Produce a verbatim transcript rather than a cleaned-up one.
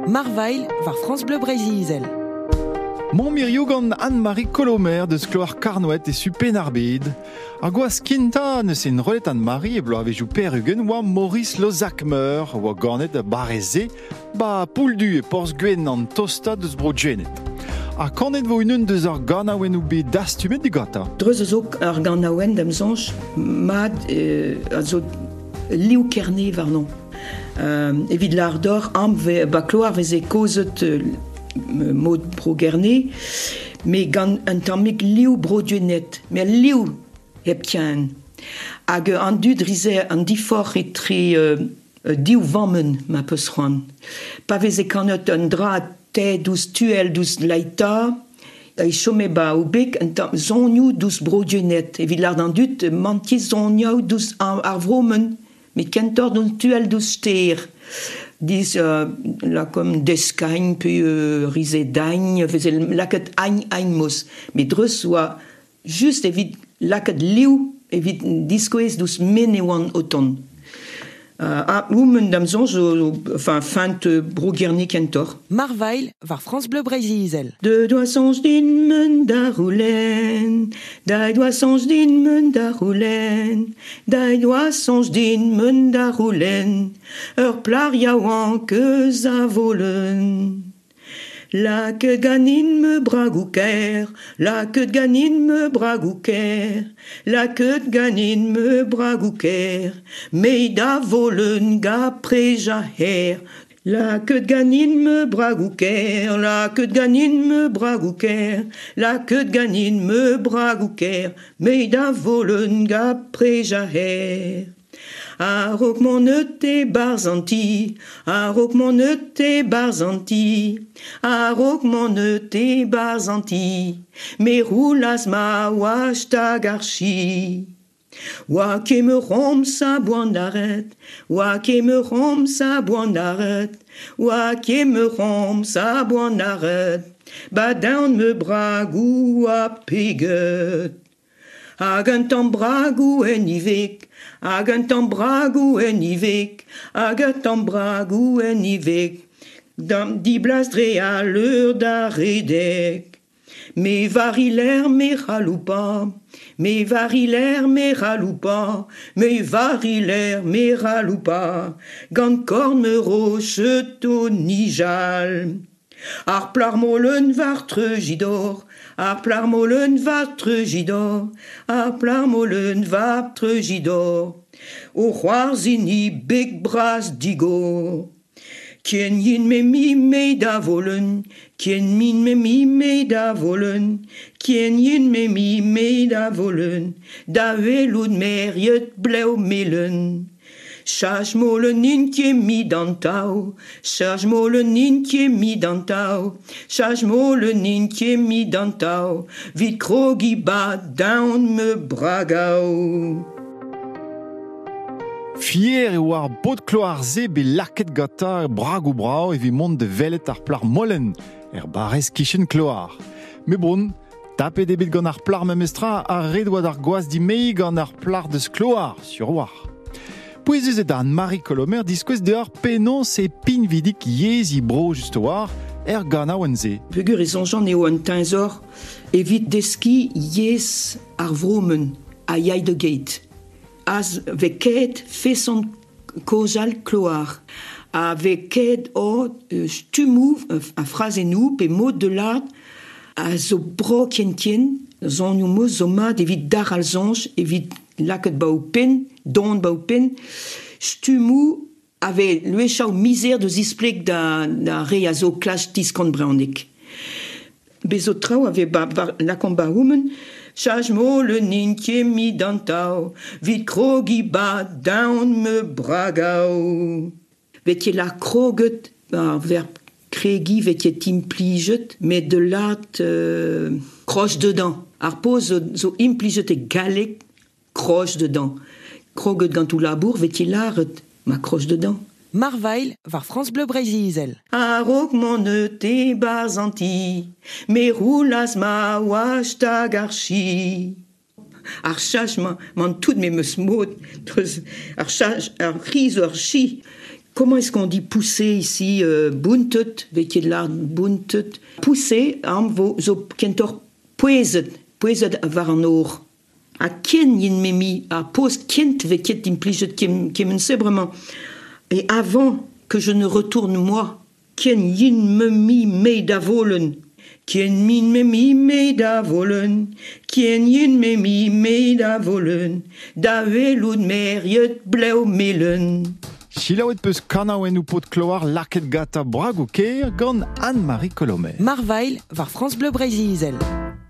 Marvail var France Bleu Brésil. Mon mirioù gant Anne-Marie Colomer de skloar Karnouet et Supen Arbid. Ar gwaz kinta neus en rolet Anne-Marie e blo avejou perugen oa Maurice Lozakmer oa ganet a bareze ba pouldu e porz gwen an tosta deus bro djenet. A kanet vo unan deus ar ganaouen ou be dastumet digata? Dreuz zo ar ganaouen d'am zonj mad euh, a zo liou kerne varnon. Euh, evit l'ardor am ve ba kloar veze kozet euh, mod bro gerne, me gant un tammig liou bro djenet, me liou hep tian. Hag an dud rize an difor etre euh, diou vammen ma peus c'hoant. Pa veze kanet un dra te douz tuel douz laita, e chome ba ou bek un tam zonioù douz bro djenet. Evit l'ard an dud manti zonioù douz ar vromen, me kentor douz tuel douz ster. Dis uh, la comme deskagne puis euh, rize dagne faisait laket agne agne mos mais dreus oa juste evit laket liou evit diskoez dus menewan oton uh, a oumen dam zonj enfin fant uh, bro gerne kentor Marvail var France Bleu Brésil. De doa sonj din men da roulen, da doa sonj din men da roulen, da doa sonj din men da roulen, ur plar yaouan keus a volen. La que ganin me bragouker, la que ganin me bragouker, la que ganin me bragouker, me da volen ga prejaher. La que ganin me bragouker, la que ganin me bragouker, la que ganin me bragouker, me da volen ga prejaher. A rok mon te barzanti, a rok mon te barzanti, a rok mon te barzanti, me roulas ma wach ta garchi. Oa ke me rom sa boanaret, oa ke me rom sa boanaret, oa ke me rom sa boanaret, ba daon me bragou a peget. Hag un tamm bragou en ivek, hag un tamm bragou en ivek, hag un tamm bragou en ivek, dam di blas dre a l'eur da redek. Me variler me raloupa, me variler me raloupa, me variler me raloupa, gant korn me roche to nijal. Ar plarmolen var trejidor, ar plarmolen var trejidor, ar plarmolen var trejidor, o c'hoarzini beg bras digo. Kien yin me mi me da volen, kien min me mi me da volen, kien yin me mi me da volen, da veloud meriet bleu melen. Chaj mo le nin kie mi dantao, chaj mo le nin kie mi dantao, chaj mo le nin kie mi dantao, vit krogi ba daon me bragao. Fier e war bod kloar ze be laket gata bragou brao e vi mont de velet ar plar molen er barez kichen kloar. Me bon, tapet ebet gant ar plar memestra a redouad ar gwaz di mei gant ar plar deus kloar, sur war. Pouezez et Anne-Marie Colomer diskouez de ar penon se pin vidik yez i bro just war er gana oanze. Pegur e zonjan eo an teinzor evit deski yez ar vromen a yai de gate. Az veket feson kozal kloar. A veket o uh, stumou uh, a frazenou pe mod de l'art a zo bro kien kien zon nou mo zo mat evit dar al zonj evit laket ba ou pen, don ba ou pen, stumou ave luechao mizer de zisplek da, da re a zo klas diskant braonik. Bezo trao ave ba, ba, lakon ba oumen, chaj mo le nin kie mi dantao, vit krogi ba daon me bragao. Vet la kroget ar verb kregi vet implijet, met de l'art euh, kroch dedans. Ar po zo, zo implijet e galek kroch dedans. Kroget gant ou labour vet l'art ma kroch dedans. Marvail var France Bleu Brésil. A rok mon te barzanti, me roulas ma wach ta garchi. Ar chaj man tout me meus mod, ar chaj ar riz ar chi, Comment est-ce qu'on dit pousser ici euh, buntet, weet je de l'art buntet. Pousser, am vo zo kentor poezet, poezet var an oor. A ken yin memi, a post kent veket impliget kem kemen sebrement. Et avant que je ne retourne moi, ken yin memi me da volen. Ken min memi me da volen, ken yin memi me da volen, da veloud meriet bleu melen. Chilaouet peus kanaouen ou pot kloar laket gata brag o keir gant Anne-Marie Colomer. Marvail war France Bleu Brésil.